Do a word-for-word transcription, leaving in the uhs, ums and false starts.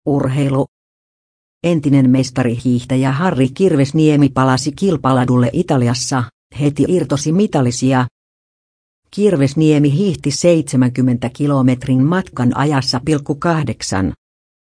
Urheilu. Entinen mestarihiihtäjä Harri Kirvesniemi palasi kilpaladulle Italiassa, heti irtosi mitalisia. Kirvesniemi hiihti seitsemänkymmentä kilometrin matkan ajassa pilkku kahdeksan.